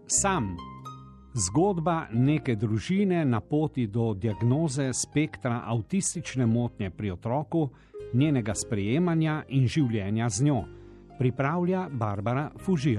Sam. Zgodba neke družine na poti do diagnoze spektra avtistične motnje pri otroku, njenega sprejemanja in življenja z njo. Pripravlja Barbara Fužir.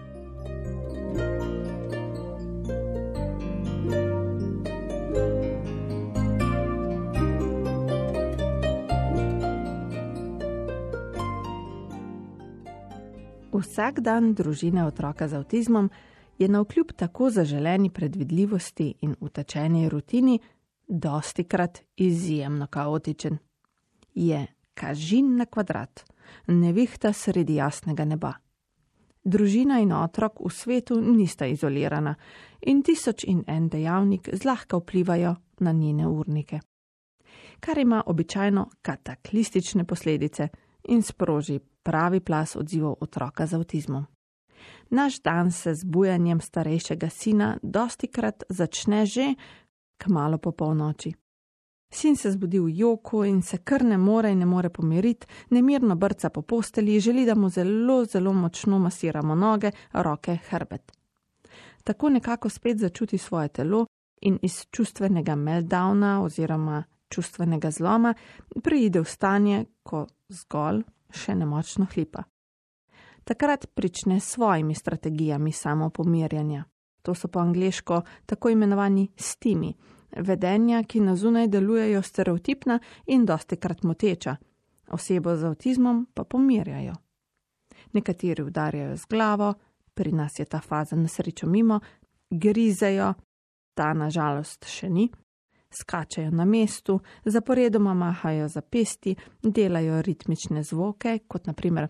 Vsak dan družine otroka z avtizmom je navkljub tako zaželeni predvidljivosti in utečeni rutini dostikrat izjemno kaotičen. Je kažin na kvadrat, nevihta sredi jasnega neba. Družina in otrok v svetu nista izolirana in 1001 dejavnik zlahka vplivajo na njene urnike, kar ima običajno kataklistične posledice in sproži pravi plas odzivov otroka z avtizmom. Naš dan se z bujanjem starejšega sina dostikrat začne že kmalu po polnoči. Sin se zbudi v joku in se kar ne more pomiriti, nemirno brca po postelji, želi, da mu zelo močno masiramo noge, roke, hrbet. Tako nekako spet začuti svoje telo in iz čustvenega meltdowna oziroma čustvenega zloma preide v stanje, ko zgolj še nemočno hlipa. Takrat prične s svojimi strategijami samopomirjanja. To so po angleško tako imenovani stimi, vedenja, ki na zunaj delujejo stereotipna in dostikrat moteča, osebo z avtizmom pa pomirjajo. Nekateri udarjajo z glavo, pri nas je ta faza na srečo mimo, grizejo, ta na žalost še ni, skačejo na mestu, zaporedoma mahajo za pesti, delajo ritmične zvoke, kot na primer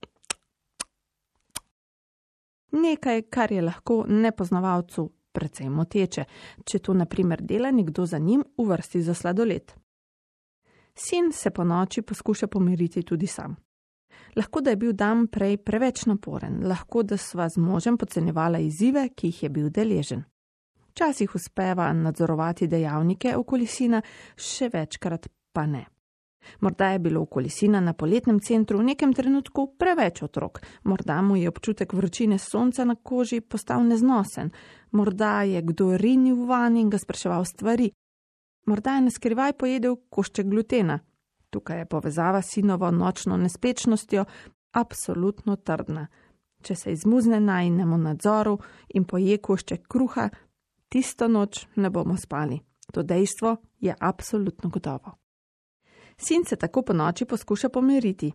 nekaj, kar je lahko nepoznavalcu precej moteče, če to na primer dela nekdo za njim v vrsti za sladoled. Sin se po noči poskuša pomiriti tudi sam. Lahko, da je bil dan prej preveč naporen, lahko, da sva z možem podcenjevala izzive, ki jih je bil deležen. Včasih uspeva nadzorovati dejavnike okoli sina, še večkrat pa ne. Morda je bilo okoli sina na poletnem centru v nekem trenutku preveč otrok, morda mu je občutek vročine sonca na koži postal neznosen, morda je kdo rinil vanj in ga spraševal stvari, morda je naskrivaj pojedel košček glutena. Tukaj je povezava s sinovo nočno nespečnostjo absolutno trdna. Če se izmuzne najinemu nadzoru in poje košček kruha, tisto noč ne bomo spali. To dejstvo je absolutno gotovo. Sin se tako po noči poskuša pomiriti.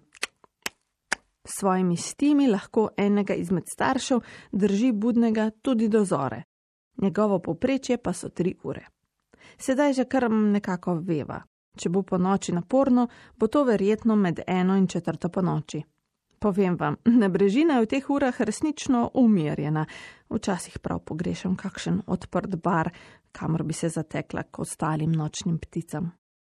S svojimi stimi lahko enega izmed staršev drži budnega tudi do zore. Njegovo povprečje pa so 3 ure. Sedaj že kar nekako veva. Če bo po noči naporno, bo to verjetno med 1 in 4 po noči. Povem vam, Nebrežina je v teh urah resnično umirjena. Včasih prav pogrešam kakšen odprt bar, kamor bi se zatekla k ostalim nočnim pticam.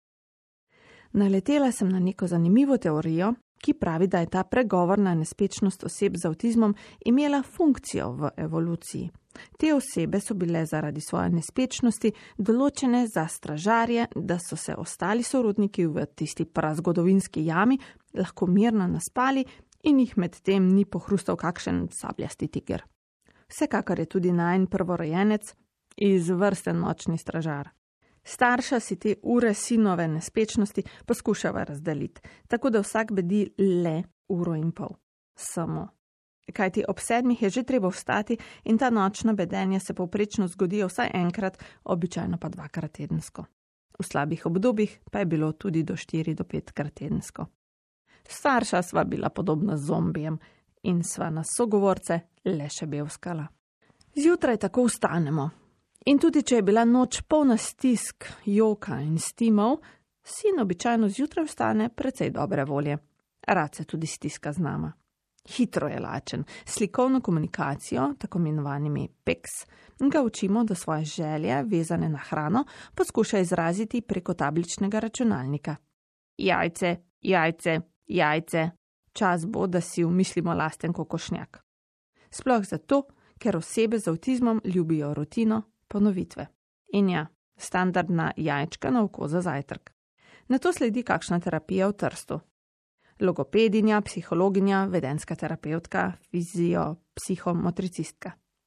Naletela sem na neko zanimivo teorijo, ki pravi, da je ta pregovorna nespečnost oseb z avtizmom imela funkcijo v evoluciji. Te osebe so bile zaradi svoje nespečnosti določene za stražarje, da so se ostali sorodniki v tisti prazgodovinski jami lahko mirno naspali in jih med tem ni pohrustal kakšen sabljasti tiger. Vsekakor je tudi najin prvorojenec izvrsten nočni stražar. Starša si te ure sinove nespečnosti poskušava razdeliti, tako da vsak bedi le 1,5 ure. Samo. Kajti ob 7 je že treba vstati in ta nočna bedenja se povprečno zgodijo vsaj enkrat, običajno pa 2-krat tedensko. V slabih obdobjih pa je bilo tudi do 4 do 5-krat tedensko. Starša sva bila podobna zombijem in sva na sogovorce le še bevskala. Zjutraj tako vstanemo. In tudi, če je bila noč polna stisk, joka in stimov, sin običajno zjutraj vstane precej dobre volje. Rad se tudi stiska z nama. Hitro je lačen, slikovno komunikacijo, tako imenovanimi PECS, ga učimo, da svoje želje, vezane na hrano, poskuša izraziti preko tabličnega računalnika. Jajce, jajce, jajce. Čas bo, da si umislimo lasten kokošnjak. Sploh zato, ker osebe z avtizmom ljubijo rutino, ponovitve. In ja, standardna jajčka na oko za zajtrk. Nato sledi kakšna terapija v Trstu. Logopedinja, psihologinja, vedenska terapevtka, fizio, psihomotricistka.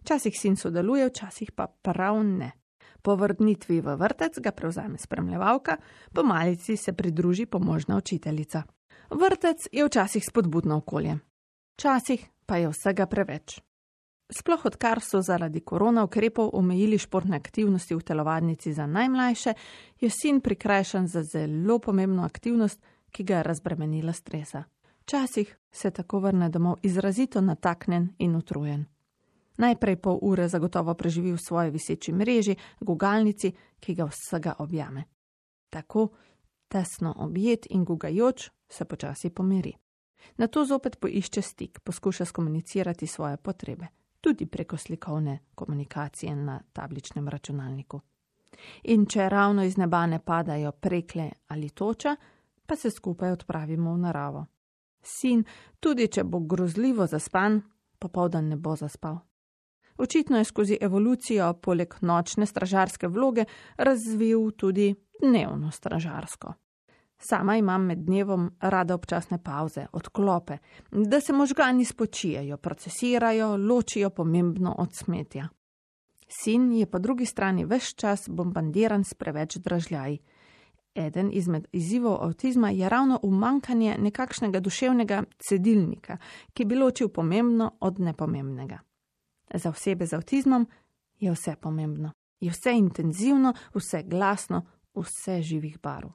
Včasih sin sodeluje, včasih pa prav ne. Po vrnitvi v vrtec ga prevzame spremljevalka, po malici se pridruži pomožna učiteljica. Vrtec je včasih spodbudno okolje, včasih pa je vsega preveč. Sploh odkar so zaradi korona ukrepov omejili športne aktivnosti v telovadnici za najmlajše, je sin prikrajšan za zelo pomembno aktivnost, ki ga je razbremenila stresa. Včasih se tako vrne domov izrazito nataknen in utrujen. Najprej pol ure zagotovo preživi v svoji viseči mreži, gugalnici, ki ga vsega objame. Tako, tesno objet in gugajoč, se počasi pomiri. Nato zopet poišče stik, poskuša skomunicirati svoje potrebe, tudi preko slikovne komunikacije na tabličnem računalniku. In če ravno iz neba ne padajo prekle ali toča, pa se skupaj odpravimo v naravo. Sin, tudi če bo grozljivo zaspan, popoldan ne bo zaspal. Očitno je skozi evolucijo poleg nočne stražarske vloge razvil tudi dnevno stražarsko. Sama imam med dnevom rada občasne pauze, odklope, da se možgani spočijejo, procesirajo, ločijo pomembno od smetja. Sin je po drugi strani ves čas bombardiran s preveč dražljaji. Eden izmed izzivov avtizma je ravno umanjkanje nekakšnega duševnega cedilnika, ki bi ločil pomembno od nepomembnega. Za osebe z avtizmom je vse pomembno, je vse intenzivno, vse glasno, vse živih barv.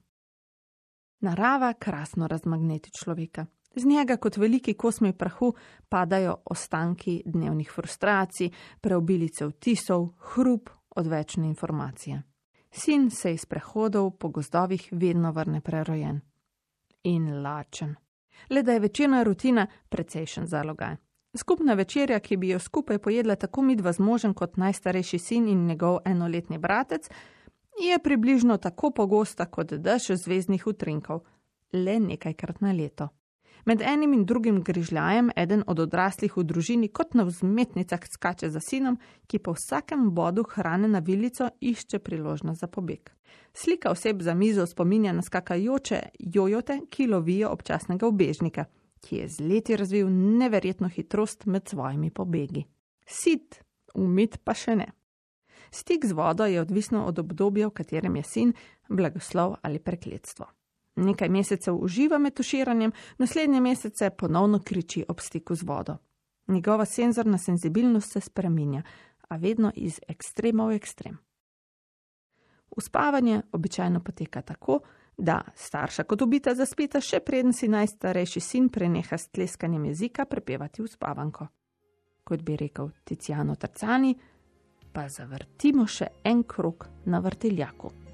Narava krasno razmagneti človeka. Z njega kot veliki kosmi prahu padajo ostanki dnevnih frustracij, preobilice vtisov, hrup, odvečne informacije. Sin se iz prehodov po gozdovih vedno vrne prerojen. In lačen. Le da je večerna rutina precejšen zalogaj. Skupna večerja, ki bi jo skupaj pojedla tako midva z možem kot najstarejši sin in njegov enoletni bratec, je približno tako pogosta kot dež zvezdnih utrinkov, le nekajkrat na leto. Med enim in drugim grižljajem eden od odraslih v družini kot na vzmetnicah skače za sinom, ki po vsakem bodu hrane na vilico išče priložnost za pobeg. Slika oseb za mizo spominja na skakajoče jojote, ki lovijo občasnega ubežnika, ki je z leti razvil neverjetno hitrost med svojimi pobegi. Sit, umit pa še ne. Stik z vodo je odvisno od obdobja, v katerem je sin, blagoslov ali prekletstvo. Nekaj mesecev uživa med tuširanjem, naslednje mesece ponovno kriči ob stiku z vodo. Njegova senzorna senzibilnost se spreminja, a vedno iz ekstrema v ekstrem. Uspavanje običajno poteka tako, da starša kot ubita zaspita, še preden si najstarejši sin preneha s tleskanjem jezika prepevati uspavanko. Kot bi rekel Tiziano Terzani, pa zavrtimo še en krog na vrtiljaku.